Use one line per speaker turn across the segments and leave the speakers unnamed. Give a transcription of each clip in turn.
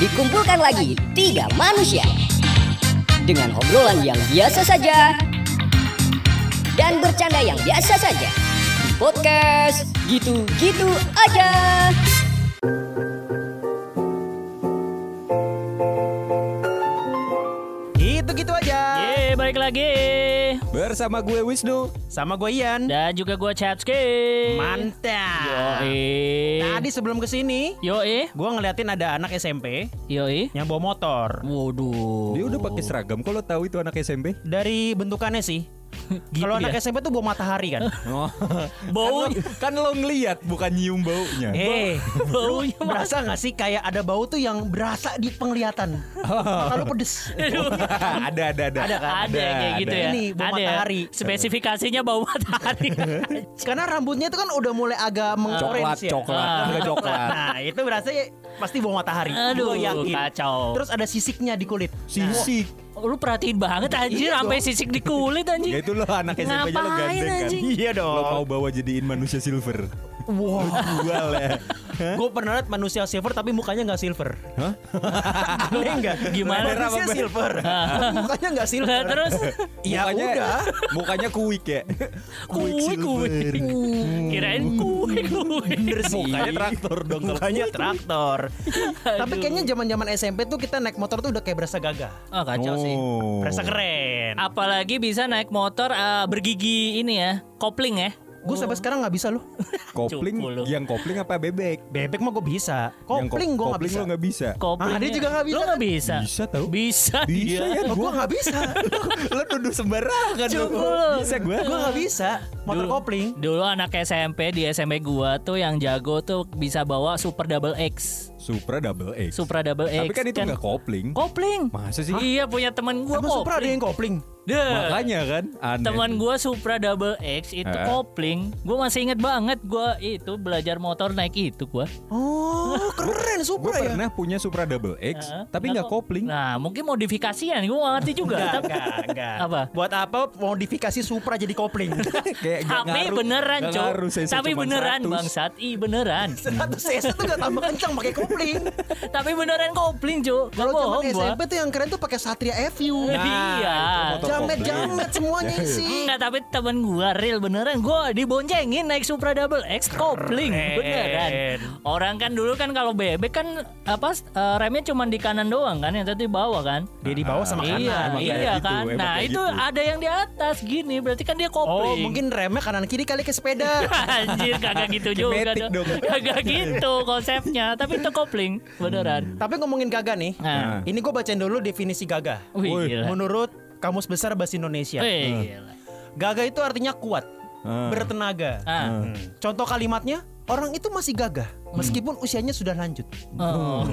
Dikumpulkan lagi tiga manusia dengan obrolan yang biasa saja dan bercanda yang biasa saja. Di podcast gitu-gitu aja.
Gitu-gitu aja.
Yeay, balik lagi.
Bersama gue Wisnu.
Sama gue Ian.
Dan juga gue Chapski.
Mantap.
Yoi.
Tadi sebelum kesini,
Yoi.
gue ngeliatin ada anak SMP
Yoi.
yang bawa motor.
Waduh.
Dia udah pakai seragam. Kok lo tahu itu anak SMP?
Dari bentukannya sih.
Gitu
Kalau anak
ya?
SMP tuh bawa matahari kan.
Oh.
Bau.
Kan lo ngeliat bukan nyium baunya.
Baunya
Lu berasa gak sih kayak ada bau tuh yang berasa di penglihatan? Kalau pedes.
ada.
Ada kan?
Ada yang kayak gitu ya.
Ini bau
Ada ya?
matahari.
Spesifikasinya bau matahari.
Karena rambutnya itu kan udah mulai agak mengorange ya.
Coklat, enggak coklat.
Nah itu berasa pasti bau matahari.
Aduh,
Gua yakin.
kacau.
Terus ada sisiknya di kulit.
Sisik.
Lu perhatiin banget anjir
Iya
sampai
dong.
sisik di kulit
Ya
anjir.
itu lo anak SMP aja lo
Ngapain,
gandeng kan.
anjing?
Iya dong.
Lo mau bawa jadiin manusia silver.
Wow.
Jual ya.
Gue pernah liat manusia silver tapi mukanya nggak silver.
Hah?
Aneh nggak?
Gimana?
Manusia silver. mukanya nggak silver.
Nah, terus
Ya udah.
Mukanya kuik ya.
kuih. Kirain kuih.
Bener sih.
Mukanya traktor dong.
Mukanya traktor. Tapi kayaknya zaman-zaman SMP tuh kita naik motor tuh udah kayak berasa gagah.
Oh, kacau sih.
Berasa keren.
Apalagi bisa naik motor bergigi ini ya, kopling ya.
Gue sampai sekarang nggak bisa loh.
Kopling,
Cupu lu.
yang kopling apa bebek?
Bebek mah gue bisa.
Yang
Kopling gue nggak
kopling
bisa.
lo nggak bisa.
Kopling.
dia juga nggak bisa
Lu nggak
kan?
bisa.
Bisa tau?
Bisa.
Bisa
dia.
ya.
Gue nggak bisa.
Lo nuduh sembarangan lo.
Cupu lu.
Bisa gue.
Gue nggak bisa. Motor kopling.
Dulu anak SMP di SMP gua tuh yang jago tuh bisa bawa Super Double X.
Supra double X.
Supra Double X.
Tapi kan itu nggak kopling.
kopling.
Masa sih?
Iya, punya temen gua
Emang Supra ada
kopling.
yang kopling?
Dah.
Makanya kan aneh.
Teman gua Supra Double X itu kopling. Gua masih inget banget gua itu belajar motor naik itu gua.
Oh keren
Gue
Supra ya.
pernah punya Supra double X, tapi nggak kopling.
Nah, mungkin modifikasian. Gua nggak ngerti juga.
Enggak.
Apa?
Buat apa modifikasi Supra jadi kopling?
Kayak nggak
Tapi
ngaruh-
beneran,
nggak
Cok.
ngaruh, cc
Tapi
cuman
beneran
100.
bangsat. Beneran.
100 cc tuh gak tambah kencang pakai kopling.
Tapi beneran kopling, Cok. Gak
Kalau zaman
bohong gua.
SMP tuh yang keren tuh pakai Satria FU.
Iya.
itu motor
Jamet-jamet semuanya sih.
Enggak, tapi temen gua real beneran gua diboncengin naik Supra Double X kopling beneran. Orang kan dulu kan kalau bebek kan apa remnya cuma di kanan doang kan, yang tadi bawah kan.
Dia di bawah sama kanan.
Iya,
emang kayak
iya
gitu,
kan.
emang
Nah,
kayak
itu
gitu.
ada yang di atas gini, berarti kan dia
Oh
kopling.
mungkin remnya kanan kiri kali ke sepeda.
Anjir, kagak gitu juga
Matic dong.
Kagak gitu konsepnya, tapi itu kopling beneran.
Tapi ngomongin gagah nih.
Nah,
Ini gue bacain dulu definisi gagah.
wih,
Woi,
gila.
Menurut Kamus Besar Bahasa Indonesia.
Wih, gila.
Gagah itu artinya kuat, bertenaga.
Ah.
Contoh kalimatnya, orang itu masih gagah meskipun usianya sudah lanjut.
Oh.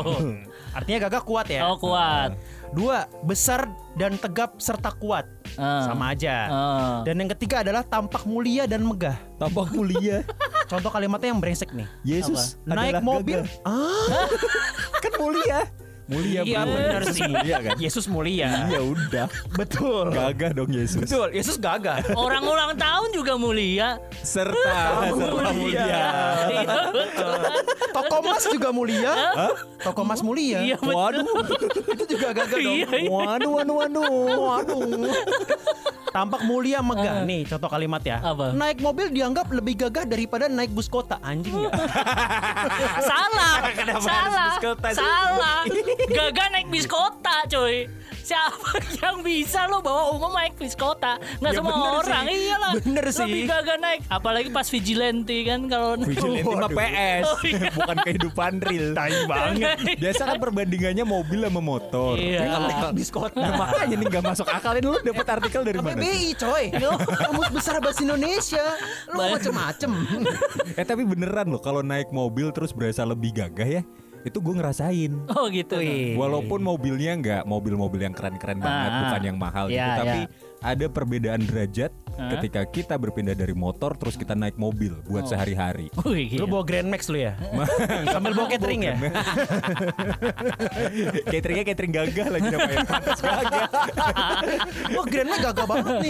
Artinya gagah kuat ya.
Oh, kuat.
2. Besar dan tegap serta kuat.
Ah.
Sama aja.
Ah.
Dan yang ketiga adalah tampak mulia dan megah.
Tampak mulia.
Contoh kalimatnya yang brengsek nih.
Yesus
Naik
adalah
mobil.
gagah. Kan mulia. Mulia
Iya benar sih.
Mulia kan?
Yesus mulia.
Ya udah.
Betul.
Gagah dong Yesus.
Betul. Yesus gagah.
Orang ulang tahun juga mulia.
Serta mulia.
Iya, betul.
Toko emas juga mulia. Toko emas mulia.
Iya, betul.
Waduh.
Itu juga gagah dong.
Iya, iya.
Waduh. Tampak mulia megah. Nih contoh kalimat ya.
Apa?
Naik mobil dianggap lebih gagah daripada naik bus kota. Anjing ya.
Salah.
Kenapa
Salah.
harus bis kota sih?
Salah. Gagal naik bis kota, coy. Siapa yang bisa lo bawa umum naik bis kota? Nggak
Ya
semua
bener
orang.
sih.
Iyalah.
Bener sih.
Lebih gagah naik. Apalagi pas vigilante kan kalau
Vigilante mah
Waduh.
PS,
Oh, iya.
bukan kehidupan real.
Tai banget.
Biasa kan perbandingannya mobil sama motor.
Iya.
Ini kalau
Naik bis kota.
Nah, makanya nih nggak masuk akal. Ini lu dapat artikel dari mana?
KBBI coy. Kamus Besar Bahasa Indonesia. Lu macem-macem.
Tapi beneran loh kalau naik mobil terus berasa lebih gagah ya. Itu gue ngerasain.
Oh gitu.
Walaupun mobilnya nggak mobil-mobil yang keren-keren banget,
Ah.
bukan yang mahal gitu,
Iya,
tapi
iya.
ada perbedaan derajat ketika kita berpindah dari motor terus kita naik mobil buat sehari-hari.
Wih,
Lu bawa Grand Max lu ya? Sambil bawa catering ya?
Cateringnya catering gagah lagi namanya. Pantas gagah.
Wah Grand Max gagah banget nih.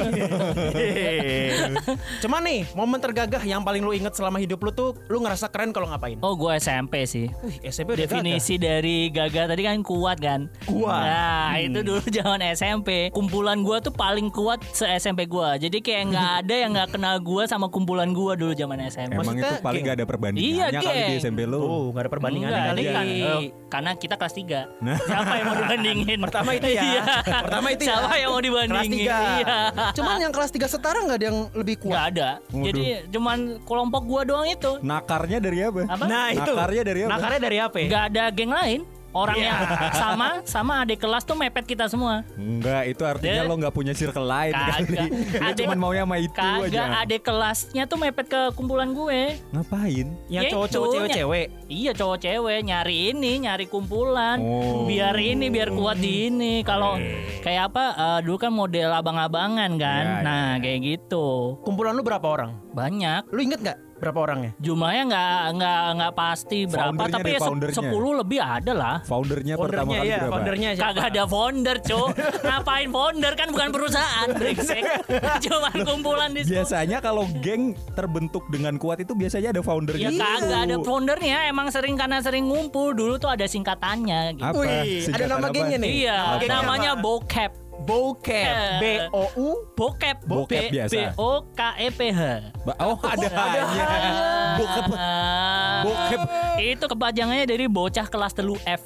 Cuman nih momen tergagah yang paling lu inget selama hidup lu tuh lu ngerasa keren kalau ngapain?
Oh gue SMP sih.
Wih SMP udah
Definisi dari gagah tadi kan kuat kan.
Kuat.
Nah itu dulu zaman SMP. Kumpulan gue tuh paling kuat se-SMP gue. Jadi kayak nggak ada yang nggak kenal gue sama kumpulan gue dulu zaman SMP.
Emang
Maksudnya
itu paling
geng?
gak ada perbandingannya
Iya,
kali di
geng.
SMP lu.
Oh gak ada perbandingannya
Enggak,
kali
ini kan,
kan?
karena kita kelas 3. Siapa yang mau dibandingin?
Pertama itu ya.
Iya.
Pertama itu ya.
Siapa yang mau dibandingin?
Kelas 3.
Iya.
Cuman yang kelas 3 setara gak ada yang lebih
Nggak
kuat?
ada. Jadi cuman kelompok gue doang itu.
Nakarnya dari apa?
Apa?
Nah itu.
Nakarnya dari apa?
Nakarnya dari apa?
Nggak ada geng lain. Orang yang sama adik kelas tuh mepet kita semua.
Enggak, itu artinya
Dia-
lo nggak punya circle lain kali.
Kagak.
Lo cuma maunya sama itu
Kagak,
aja.
adik kelasnya tuh mepet ke kumpulan gue.
Ngapain?
Yang
Ya
cowok-cowok
itu,
cewek-cewek.
Iya cowok cewek nyari kumpulan.
Oh.
Biar kuat di ini. Kalau kayak apa dulu kan model abang-abangan kan.
Ya,
Nah kayak gitu.
Kumpulan lu berapa orang?
Banyak.
Lu inget gak berapa orangnya?
Jumlahnya nggak pasti berapa,
Foundernya
tapi
deh,
ya
foundernya.
10 lebih ada lah.
Foundernya pertama
Foundernya
kali
iya,
berapa?
foundernya siapa?
Kagak ada founder, Cuk. Ngapain founder kan bukan perusahaan, brengsek. Cuman kumpulan di situ.
Biasanya kalau geng terbentuk dengan kuat itu biasanya ada foundernya.
Ya kagak ada foundernya, emang karena sering ngumpul. Dulu tuh ada singkatannya gitu.
Apa?
Wih, ada
Singkatan
nama
apa?
gengnya nih.
Iya,
Nama gengnya
namanya
apa?
Bokep.
Bokep. B-O-U.
Bokep.
Bokep biasa.
B-O-K-E-P-H.
Oh ada hanya. Bokep. Bokep.
Itu kepanjangannya dari bocah kelas 3 F.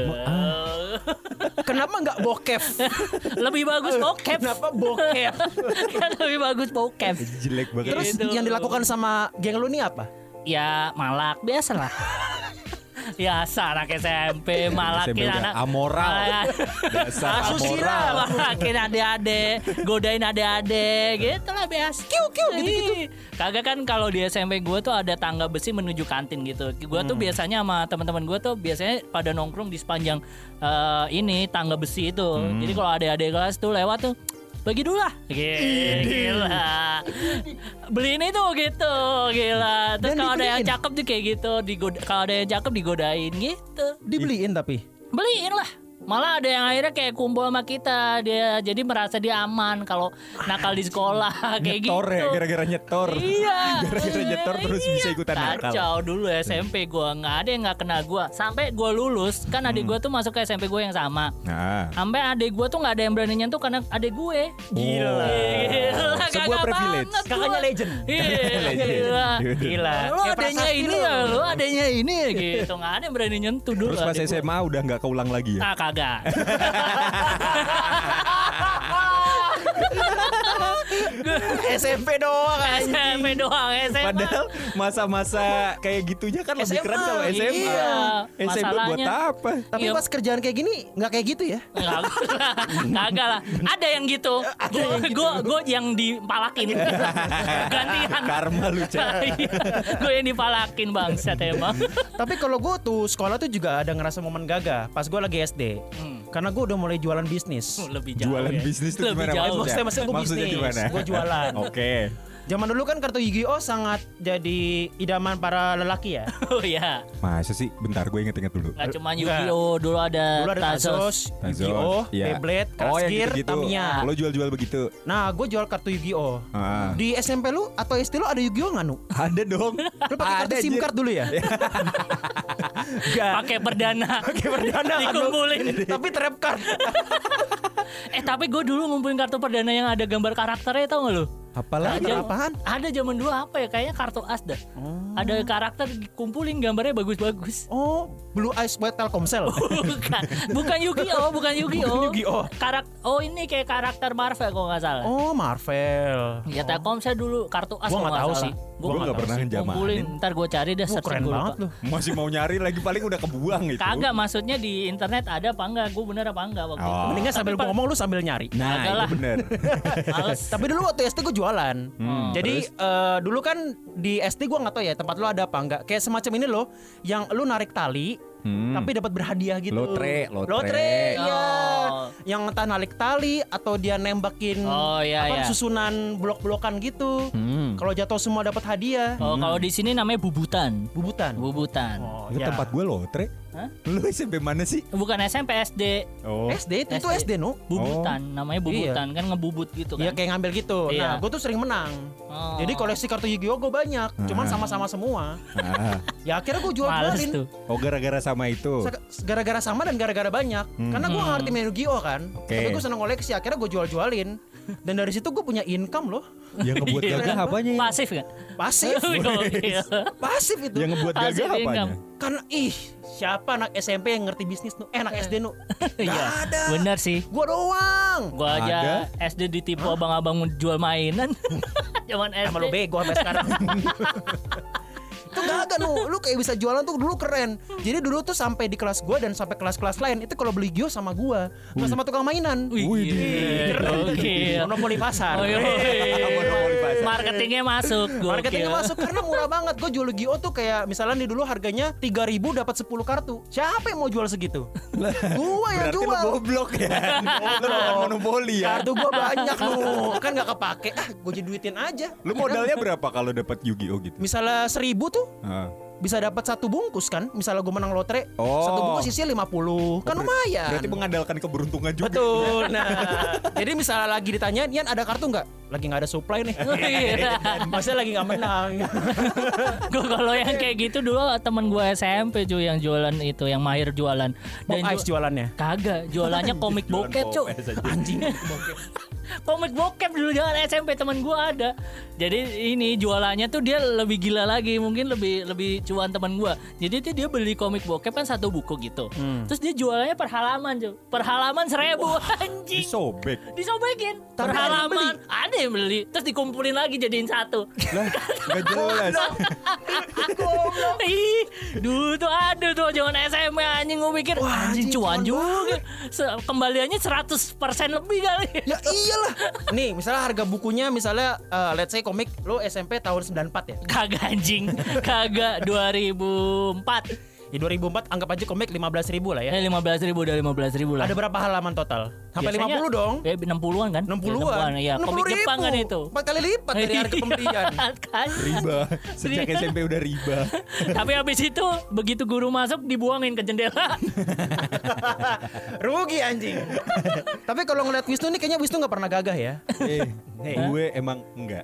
Kenapa nggak bokep?
Lebih bagus bokep.
Kenapa bokep?
Kan lebih bagus bokep.
Jelek banget.
Terus
Gitu.
yang dilakukan sama geng lu nih apa?
Ya malak biasa lah. Biasa anak SMP malakin
SMP udah
anak
amoral. Dasar
Asusila.
amoral.
malakin adik-adik, godain adik-adik, gitu lah biasa.
Kiu gitu-gitu.
Kagak kan kalau di SMP gue tuh ada tangga besi menuju kantin gitu. Gue tuh biasanya sama teman-teman gue tuh biasanya pada nongkrong di sepanjang ini tangga besi itu. Jadi kalau adik-adik kelas tuh lewat tuh bagi dulu lah. Gila. Beliin itu gitu. Gila. Terus
Dan
kalau ada yang
dibeliin?
cakep tuh kayak gitu, kalau ada yang cakep digodain gitu.
Dibeliin tapi.
Beliin lah. Malah ada yang akhirnya kayak kumpul sama kita. Dia jadi merasa dia aman kalau nakal di sekolah kayak
Nyetor
gitu.
ya, gara-gara nyetor.
Iya.
Gara-gara nyetor terus bisa ikutan nakal.
Kacau dulu SMP gua nggak ada yang nggak kenal gua. Sampai gua lulus kan adik gua tuh masuk ke SMP gua yang sama.
Nah,
Sampai adik gua tuh nggak ada yang berani nyentuh karena adik gue.
Gila.
Gila,
Sebuah
gagah
privilege.
banget
Kakaknya
gua.
legend.
Iya, gila.
Gila.
Lu
Kayak
adanya
prasasti
ini
lu.
ya, lu adanya ini ya gitu. Nggak ada yang berani nyentuh dulu.
terus pas
adik gua.
SMA udah nggak keulang lagi ya?
Ah kagak.
SMP doang anjing.
SMP doang SMA.
Padahal masa-masa kayak gitunya kan lebih
SMA,
keren kalau SMA.
iya.
SMP buat
Masalahnya-
apa?
Tapi
Iya.
pas kerjaan kayak gini nggak kayak gitu ya?
Kagak lah. Ada yang gitu. Gue yang dipalakin. Gantian.
Karma lu, Cak.
Gue yang dipalakin bangsat emang.
Tapi kalau gue tuh sekolah tuh juga ada ngerasa momen gagah pas gue lagi SD. Karena gue udah mulai jualan bisnis.
Lebih jauh.
Jualan
ya.
bisnis tuh
Lebih
gimana
jauh.
maksudnya?
Maksudnya gue
Maksudnya
bisnis,
gimana?
gue jualan.
Oke.
Zaman dulu kan kartu Yu-Gi-Oh sangat jadi idaman para lelaki ya.
Oh iya.
Masa sih? Bentar gue inget-inget dulu.
Gak cuma Yu-Gi-Oh, dulu ada
Dulu ada Tazos, Yu-Gi-Oh,
Iya.
Beyblade,
Oh, yang
Crush Gear,
gitu-gitu.
Tamiya.
Lo jual-jual begitu.
Nah, gue jual kartu Yu-Gi-Oh.
Ah.
Di SMP lu atau SD lu ada Yu-Gi-Oh nggak, Nu?
Ada dong.
Lu pakai kartu
Ada,
SIM
anjir.
card dulu ya? Enggak.
pakai perdana.
Pakai perdana kan lu.
Dikumpulin.
Tapi trap card.
Tapi gue dulu ngumpulin kartu perdana yang ada gambar karakternya, tau gak lu?
Apalah?
Gambar apaan?
Ada zaman dulu apa ya? Kayaknya kartu as dah. Ada karakter dikumpulin gambarnya bagus-bagus.
Oh, Blue Eyes White Telkomsel.
bukan Yu-Gi-Oh, bukan Yu-Gi-Oh.
Bukan Yu-Gi-Oh.
Ini kayak karakter Marvel kalau nggak salah.
Oh, Marvel.
Ya Telkomsel dulu kartu as
Gua
kalau
nggak tahu
salah.
sih.
Gua nggak pernah ngejamanin.
Kumpulin, ntar gue cari dah searching
Keren
gua lupa.
banget lu.
Masih mau nyari lagi paling udah kebuang itu.
Kagak, maksudnya di internet ada apa enggak? Gue bener apa enggak waktu itu.
Oh.
Mendingan sambil gua ngomong lu sambil nyari.
Nah,
Kagak lah.
itu bener.
Males.
Tapi dulu waktu SD gue jualan. Jadi dulu kan di SD gue nggak tahu ya tempat lu ada apa enggak. Kayak semacam ini loh, yang lu narik tali, tapi dapat berhadiah gitu.
Lotre.
Iya.
Oh.
yang entah narik tali atau dia nembakin susunan blok-blokan gitu. Kalau jatuh semua dapat hadiah.
Oh, kalau di sini namanya bubutan.
Bubutan.
Oh,
Itu tempat gue lotre.
Hah?
Lu SMP mana sih?
Bukan SMP, SD.
Oh.
SD itu SD nu.
Bubutan, namanya bubutan kan ngebubut gitu kan.
Iya kayak ngambil gitu.
Iya.
Nah, gue tuh sering menang. Jadi koleksi kartu Yu-Gi-Oh gue banyak, cuman sama-sama semua. Ya akhirnya gue jual-jualin.
Tuh.
Oh, gara-gara sama itu.
Gara-gara sama dan gara-gara banyak. Karena gue ngerti main Yu-Gi-Oh kan. Tapi gue seneng koleksi, akhirnya gue jual-jualin. Dan dari situ gue punya income loh.
Yang ngebuat gagah apanya?
Pasif kan?
Pasif. Pasif itu.
Yang ngebuat
Pasif
gagah apanya?
income.
Karena siapa anak SMP yang ngerti bisnis nu? Anak SD nu?
Iya.
ada.
Bener sih.
Gua doang.
Gua aja SD ditipu abang-abang jual mainan. Zaman SD.
Sama lu bego sampai sekarang. Itu gak ada lu kayak bisa jualan tuh dulu keren. Jadi dulu tuh sampai di kelas gua dan sampai kelas-kelas lain itu kalau beli Gio sama gua, nggak sama tukang mainan.
Oke.
Monopoli pasar.
Monopoli pasar.
Marketingnya masuk.
Marketingnya masuk karena murah banget. Gue jual Gio tuh kayak misalnya di dulu harganya 3.000 dapat 10 kartu. Siapa yang mau jual segitu? Gua yang
Berarti
jual.
lu goblok ya. Lu bukan monopoli ya.
Kartu gua banyak lu. Kan nggak kepake. Gue jadi duitin aja.
Lu modalnya berapa kalau dapat Yu-Gi-Oh gitu?
Misalnya 1.000 tuh bisa dapat 1 bungkus kan. Misalnya gue menang lotre, 1 bungkus isinya 50. Kan lumayan.
Berarti mengandalkan keberuntungan juga.
Betul. Nah, jadi misalnya lagi ditanyain, Yan ada kartu nggak? Lagi nggak ada supply nih. Maksudnya lagi nggak menang.
Gue kalau yang kayak gitu dulu temen gue SMP cuy yang jualan itu, yang mahir jualan.
Pop Ice jualannya.
Kagak, jualannya komik bokep cuy.
Anjing.
Komik bokep dulu jangan SMP teman gue ada. Jadi ini jualannya tuh dia lebih gila lagi, mungkin lebih cuan teman gue. Jadi dia beli komik bokep kan 1 buku gitu. Terus dia jualannya per halaman cuy. Per halaman 1.000 anjing. Disobekin. Per halaman. Ada yang beli. Terus dikumpulin lagi jadiin 1.
Lah, enggak jelas.
Ih, dulu tuh ada tuh jangan SMP anjing, gue pikir anjing cuan juga. Kembaliannya 100% lebih kali.
Ya iyalah. Nih, misalnya harga bukunya misalnya let's say komik lo SMP tahun 94 ya.
Kagak anjing. Kagak 2004.
Di 2004 anggap aja komik 15.000 lah ya.
15.000 udah 15.000 lah.
Ada berapa halaman total? Sampai
Biasanya,
50 dong.
60-an kan?
60-an.
Ya, komik Jepang kan itu.
4 kali lipat dari harga pembelian.
Riba. Sejak SMP udah riba.
Tapi habis itu begitu guru masuk dibuangin ke jendela.
Rugi anjing. Tapi kalau ngeliat Wisnu nih kayaknya Wisnu gak pernah gagah ya.
Gue emang enggak.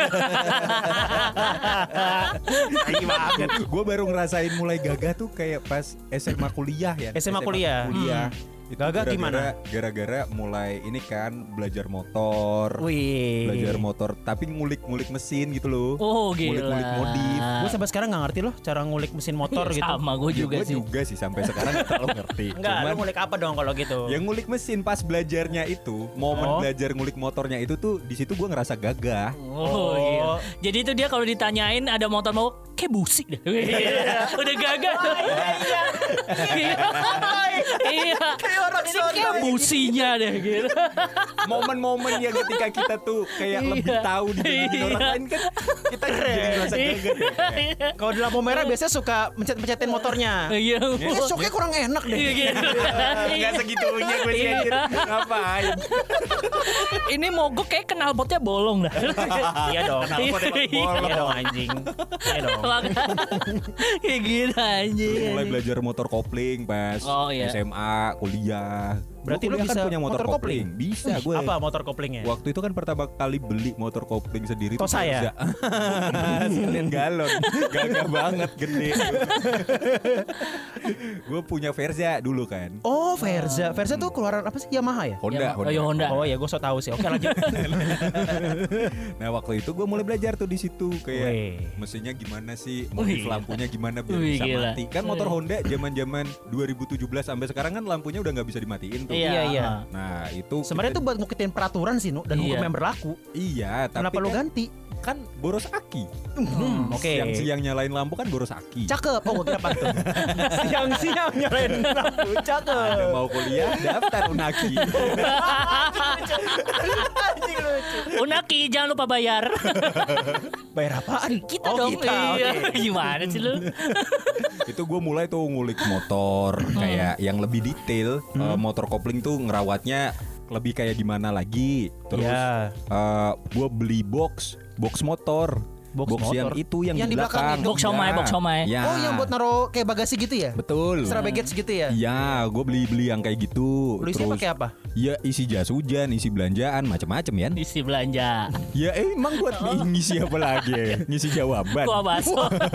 Gue baru ngerasain mulai gagah tuh kayak pas SMA kuliah ya.
SMA kuliah.
Itu
Gagah gimana?
Gara-gara mulai ini kan belajar motor.
Wih.
Belajar motor tapi ngulik-ngulik mesin gitu loh.
Oh gila.
Ngulik-ngulik modif.
Gue sampai sekarang gak ngerti loh cara ngulik mesin motor gitu.
Sama gue juga
Gue
sih.
juga sih sampai sekarang gak terlalu ngerti.
Enggak, lu ngulik apa dong kalau gitu?
Yang ngulik mesin pas belajarnya itu, momen belajar ngulik motornya itu tuh di situ gue ngerasa gagah.
Oh iya. Jadi itu dia kalau ditanyain ada motor mau kayak busi deh. Udah gagah tuh. Iya.
Kayak orang
ini kayak businya deh gitu.
Momen-momen yang ketika kita tuh kayak lebih tahu dibandingin orang lain kan kita jadi ngerasa gagah.
Kalau di lampu merah biasanya suka mencet-mencetin motornya.
Iya.
Kayak shocknya kurang enak deh.
Enggak segitunya gue sih anjir. Ngapain?
Ini mogok kayak knalpotnya bolong dah.
Iya dong. Iya dong anjing. Iya dong.
Kayak gitu anjing.
Mulai belajar motor kopling pas SMA, kuliah.
Berarti lu
Gua kuliah
bisa
kan punya motor kopling. Bisa gue.
Apa motor koplingnya?
Waktu itu kan pertama kali beli motor kopling sendiri
Tosa ya?
Sekalian galon. Gagah banget gede. Gue punya Verza dulu kan.
Oh, Verza. Verza tuh keluaran apa sih? Yamaha ya?
Honda.
Honda.
Oh ya, gue so tahu sih. Oke, lanjut.
Nah, waktu itu gue mulai belajar tuh di situ kayak mesinnya gimana sih, modif lampunya gimana biar bisa mati. Kan motor Honda zaman-zaman 2017 sampai sekarang kan lampunya udah nggak bisa dimatiin tuh.
Iya.
Nah, itu
sebenarnya itu buat ngikutin peraturan sih, Nu, dan hukum yang berlaku.
Iya, tapi
kenapa lu ganti?
Kan boros aki.
Oke.
Siang-siang nyalain lampu kan boros aki.
Cakep. Oh, gue kira pantun. Siang-siang nyalain lampu. Cakep.
Ada mau kuliah, daftar Unaki.
Anjing lucu.
Unaki jangan lupa bayar.
Bayar apaan?
Kita
oh,
dong.
Kita.
Iya.
Okay.
Gimana sih lu?
Itu gue mulai tuh ngulik motor kayak yang lebih detail. Motor kopling tuh ngerawatnya lebih kayak gimana lagi. Terus gue beli box motor. Box yang itu yang di belakang.
Box somai.
Ya.
Oh, yang buat naruh kayak bagasi gitu ya?
Betul.
Extra baggage gitu ya?
Ya, gue beli yang kayak gitu.
Lu isinya pakai apa?
Ya isi jas hujan, isi belanjaan, macam-macam ya.
Isi belanja.
Ya emang buat ngisi apa lagi? Ngisi jawaban.
Gua bakso.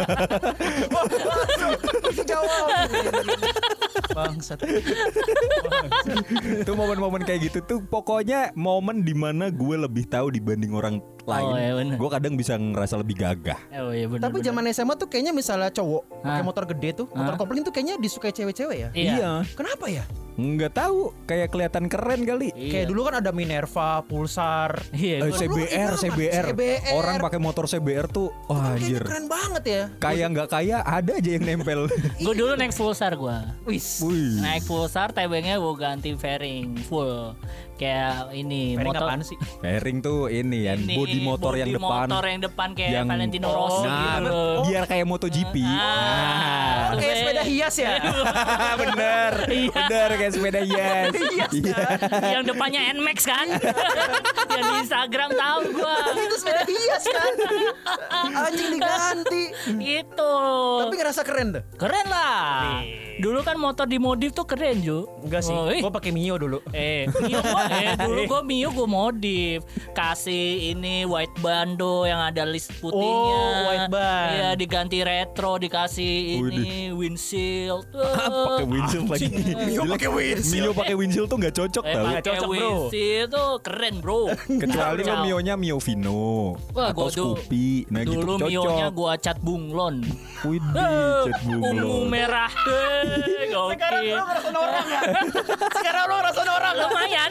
Itu jawab. Bangsat.
Itu momen-momen kayak gitu tuh pokoknya momen dimana gue lebih tahu dibanding orang lain.
Oh, iya bener.
Gue kadang bisa ngerasa lebih gagah.
Oh iya benar.
Tapi zaman SMA tuh kayaknya misalnya cowok pakai motor gede tuh, motor kopling tuh kayaknya disukai cewek-cewek ya?
Iya.
Kenapa ya?
Nggak tahu, kayak kelihatan keren kali.
Kayak dulu kan ada Minerva, Pulsar.
Iya.
CBR. Orang pakai motor CBR tuh, wah
Kayaknya
anjir.
keren banget ya.
Kayak nggak kaya ada aja yang nempel.
Gue dulu naik Pulsar gue.
Wis.
Wih.
Naik Pulsar, tebengnya gue ganti fairing full. Kayak ini
Fairing
motor.
apaan sih?
Fairing tuh ini ya,
Ini,
body motor yang
body
depan.
motor yang depan kayak
Yang-
Valentino Rossi
Nah,
gitu loh.
biar kayak MotoGP.
Oh, kayak sepeda hias ya?
Bener, bener kayak sepeda hias. Iya.
Yang depannya Nmax kan? Yang di Instagram tahu gua.
Itu sepeda hias kan? Anjing diganti.
Itu.
Tapi ngerasa keren tuh.
Keren lah. Dulu kan motor dimodif tuh keren, Ju.
Enggak sih,
Oh, ih.
gue pakai Mio dulu.
Dulu gua Mio gua modif. Kasih ini white bando yang ada list putihnya.
Oh, white band.
Iya, diganti retro, dikasih ini windshield.
Pakai windshield lagi.
Mio pakai windshield.
Mio pakai windshield tuh nggak cocok tau.
Pakai
cocok, bro.
windshield tuh keren, bro.
Kecuali lo
Kacau.
Mionya Mio Vino
Wah,
atau
gua dulu-
Scoopy. Nah gitu
Dulu
cocok.
Mio-nya gua cat bunglon.
Widih, cat
Ungu
bunglon.
merah.
Sekarang
Gokil.
lo ngerasa orang ya? Sekarang lo ngerasa orang ya?
Lumayan.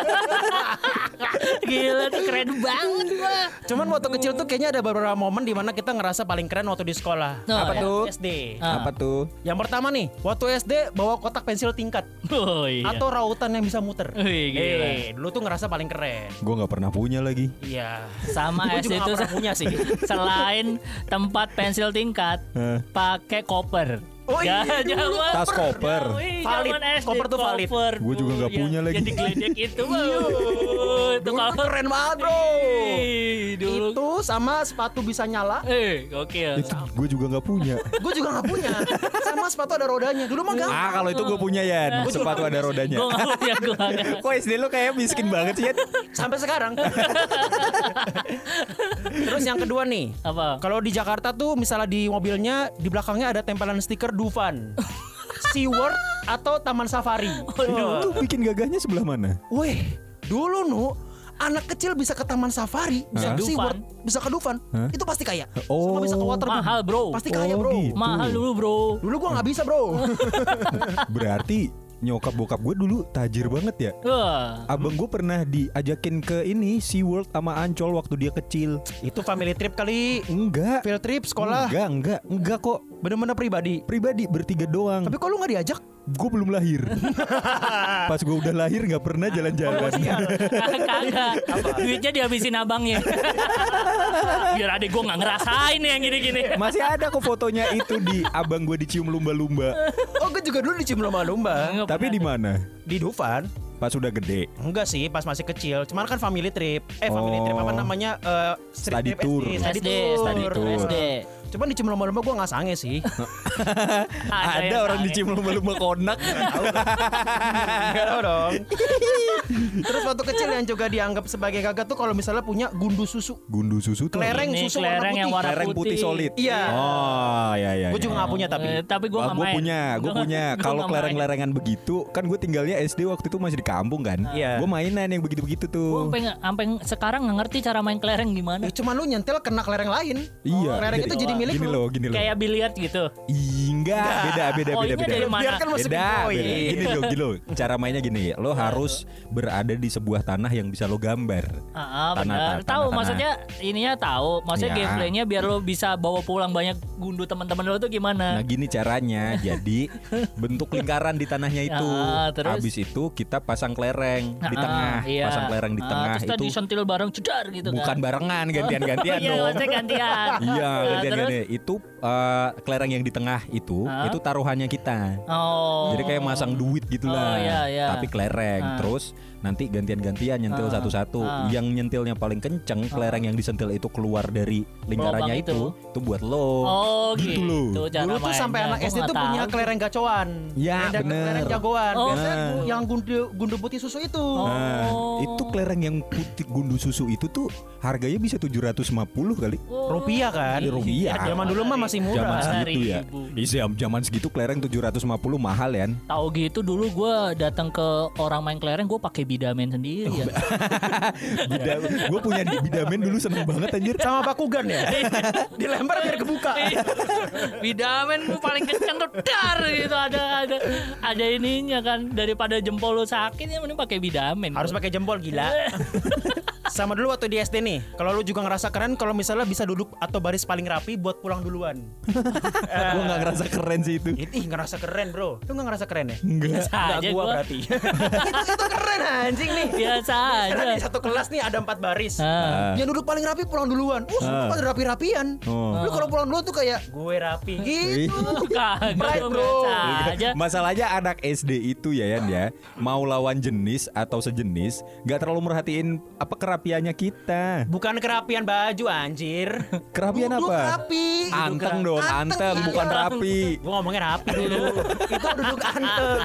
Gila tuh keren banget gua.
Cuman waktu kecil tuh kayaknya ada beberapa momen di mana kita ngerasa paling keren waktu di sekolah.
Oh,
Apa
ya.
tuh? SD.
Ah.
Apa tuh?
Yang pertama nih, waktu SD bawa kotak pensil tingkat
Oh iya.
atau rautan yang bisa muter.
Wih, gila.
Dulu tuh ngerasa paling keren.
Gue nggak pernah punya lagi.
Iya.
Sama
Gua
SD
juga
itu
nggak pernah punya sih.
Selain tempat pensil tingkat, pakai koper.
Oh iya, dulu
Zaman-
Tas koper.
Wih,
Valid.
zaman SD,
Koper tuh valid.
Gua juga nggak punya lagi.
Yang digeledek itu, bro. Itu
Dulu
kalau
tuh keren banget bro.
Ih, dulu.
Itu sama sepatu bisa nyala.
Gokil.
Itu gue juga nggak punya.
Gue juga gak punya. Sama sepatu ada rodanya. Dulu mah gampang.
Kalau itu gue punya ya. Sepatu ada rodanya.
Gue gak punya, gue gak.
Kok SD lo kayak miskin banget sih ya?
Sampai sekarang. Terus yang kedua nih.
Apa?
Kalau di Jakarta tuh misalnya di mobilnya di belakangnya ada tempelan stiker Dufan, SeaWorld atau Taman Safari.
Itu bikin gagahnya sebelah mana?
Weh, dulu nu anak kecil bisa ke Taman Safari, bisa ke
Dufan.
SeaWorld, bisa ke Dufan, itu pasti kaya.
Oh.
Sama bisa ke Waterboom.
Mahal, bro.
Pasti kaya,
Oh,
bro.
gitu.
Mahal dulu, bro.
Dulu gua nggak bisa, bro.
Berarti nyokap bokap gue dulu tajir banget ya.
Wah.
Abang gue pernah diajakin ke ini SeaWorld sama Ancol waktu dia kecil.
Itu family trip kali.
Enggak.
Field trip sekolah.
Enggak kok.
Bener-bener pribadi.
Pribadi bertiga doang.
Tapi kok lu gak diajak?
Gue belum lahir. Pas gue udah lahir nggak pernah jalan-jalan.
Kagak. Duitnya dihabisin abangnya. Biar adek gue gak ngerasain yang gini-gini.
Masih ada kok fotonya itu di abang gue dicium lumba-lumba.
Oh, gue juga dulu dicium lomba-lomba.
Tapi di mana?
Di Dufan.
Pas udah gede.
Enggak sih, pas masih kecil. Cuman kan family trip. Family trip apa namanya?
Study
trip
tour.
SD.
Study tour. SD.
Cuman dicium lomba-lomba gue gak sange sih.
Ada
yang
orang
sange.
dicium lumba-lumba konak.
Enggak tahu dong. Terus waktu kecil yang juga dianggap sebagai gagah tuh kalau misalnya punya gundu susu.
Gundu susu tuh.
Kelereng
Ini
susu
kelereng yang warna
Kelereng putih solid.
Iya.
Oh, ya.
Gue juga gak punya
Tapi gue gak
Gue
main.
punya. Kalau kelereng-lerengan begitu, kan gue tinggalnya SD waktu itu masih di kampung kan.
Iya.
Gue mainan yang begitu-begitu
Gue
tuh.
sampai sekarang gak ngerti cara main kelereng gimana.
Cuman lu nyentil kena kelereng lain.
Iya.
Kelereng itu jadi milik
gini
lu.
loh.
Kayak biliar gitu.
Enggak, beda.
Oh, ini dari mana?
Biar kan masuk
Beda.
poin.
Gini loh. Cara mainnya gini. Lo harus berada di sebuah tanah yang bisa lo gambar.
Benar. Tahu maksudnya ininya tahu. Maksudnya
Ya.
gameplaynya biar lo bisa bawa pulang banyak gundu teman-teman lo tuh gimana?
Nah gini caranya. Jadi bentuk lingkaran di tanahnya itu.
Terus?
Habis itu kita pasang kelereng di tengah.
Iya.
Pasang kelereng di tengah
terus tadi
itu.
sentil bareng cedar gitu
Bukan
kan.
barengan, gantian-gantian
Iya,
dong.
maksudnya gantian.
Iya,
Nah,
gantian-gantian.
terus?
Itu kelereng yang di tengah itu taruhannya kita.
Oh.
Jadi kayak masang duit gitulah.
Oh, iya.
Tapi kelereng. Terus nanti gantian-gantian nyentil satu-satu. Yang nyentilnya paling kenceng, kelereng yang disentil itu keluar dari lingkarannya itu buat lo.
Oh,
gitu loh.
Dulu tuh sampai anak SD tuh punya kelereng gacoan.
Ya,
kelereng jagoan. Biasanya yang gundu putih susu itu.
Nah, itu kelereng yang putih gundu susu itu tuh harganya bisa 750 kali.
Rupiah kan?
Rupiah.
Zaman dulu mah masih murah.
Zaman segitu ya. Zaman segitu kelereng 750 mahal ya.
Tahu gitu dulu gue datang ke orang main kelereng gue pakai bidamen sendiri ya.
Gue punya bidamen dulu seneng banget anjir.
Sama Bakugan ya. Dilempar biar kebuka.
Bidamen gue paling kencang tuh dar gitu ada ininya kan daripada jempol lu sakit ya mending pakai bidamen.
Harus pakai jempol gila. Sama dulu waktu di SD nih, kalau lu juga ngerasa keren kalau misalnya bisa duduk atau baris paling rapi buat pulang duluan.
Gue gak ngerasa keren sih itu.
Ih ngerasa keren bro. Lu gak ngerasa keren ya?
Enggak.
Aja
Gua berarti. itu keren anjing nih.
Biasa aja.
Di satu kelas nih ada 4 baris. Yang duduk paling rapi pulang duluan. Semua pada rapi-rapian. Lu kalau pulang duluan tuh kayak gue rapi gitu. Pride bro.
Aja.
Masalahnya anak SD itu ya Yan ya, mau lawan jenis atau sejenis gak terlalu merhatiin apa kerapiannya kita.
Bukan kerapian baju anjir.
Kerapian
duduk
apa?
Rapi.
Anteng dong, anteng
iya.
bukan rapi.
Gue ngomongnya rapi dulu. Itu duduk anteng.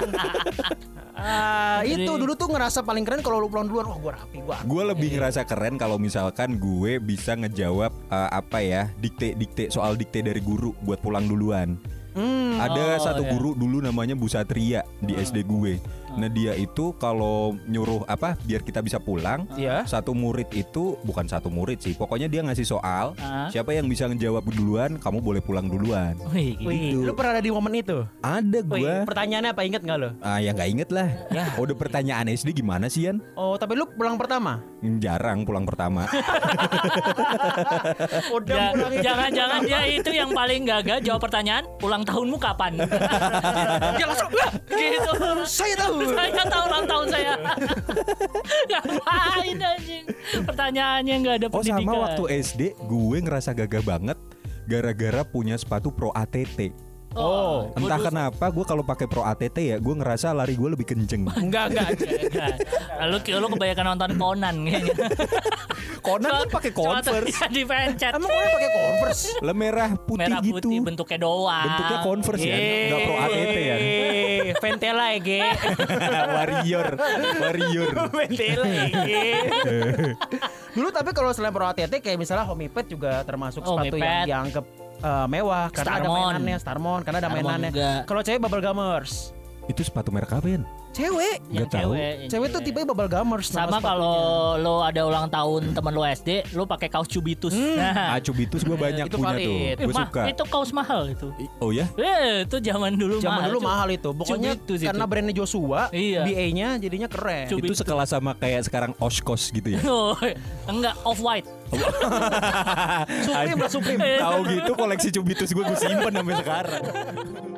Itu dulu tuh ngerasa paling keren kalau lu pulang duluan. Wah gue rapi,
Gue lebih ngerasa keren kalau misalkan gue bisa ngejawab dikte soal dikte dari guru buat pulang duluan. Ada satu guru dulu namanya Bu Satria di SD gue. Nah dia itu kalau nyuruh biar kita bisa pulang, satu murid itu bukan satu murid sih, pokoknya dia ngasih soal, siapa yang bisa ngejawab duluan, kamu boleh pulang duluan.
Wih, lu pernah ada di momen itu?
Ada gue.
Pertanyaannya apa, inget nggak lo?
Ya nggak inget lah. Udah pertanyaan SD gimana sih Yan?
Oh tapi lu pulang pertama?
Jarang pulang pertama.
Jangan-jangan dia itu yang paling gagal jawab pertanyaan ulang tahunmu kapan? Dia langsung gitu.
Saya tahu
ulang tahun saya. Ngapain anjing? Pertanyaannya nggak ada pendidikan.
Sama waktu SD gue ngerasa gagah banget gara-gara punya sepatu Pro ATT. Entah kenapa gue kalau pakai Pro ATT ya gue ngerasa lari gue lebih kenceng.
Enggak. Lu kebanyakan nonton Conan kayaknya.
Conan kan pakai Converse.
Dipencet.
Emang Conan pakai Converse?
Lah merah putih gitu.
Bentuknya doang.
Bentuknya Converse ya, enggak Pro ATT ya.
Ventela ya, Ge.
Warrior.
Ventela ya, Ge. Dulu tapi kalau selain Pro ATT kayak misalnya Homipad juga termasuk sepatu yang dianggap mewah karena ada mainannya, Starmon karena ada mainannya. Kalau cewek Bubble Gummers.
Itu sepatu merek apa ya?
Cewek.
Gak tahu.
Cewek tuh tipe Bubble Gummers.
Sama kalau lo ada ulang tahun teman lo SD, lo pakai kaos Cubitus.
Cubitus gue banyak
itu
punya
valid.
Tuh. Gue suka.
Itu kaos mahal itu.
Oh ya?
Itu zaman dulu
mahal itu. Pokoknya
Cubitus
karena
itu.
Brandnya Joshua, BA-nya jadinya keren.
Itu sekelas sama kayak sekarang Oshkosh gitu ya?
Enggak, Off-White.
Supreme.
Tahu gitu koleksi Cubitus gue simpen sampai sekarang.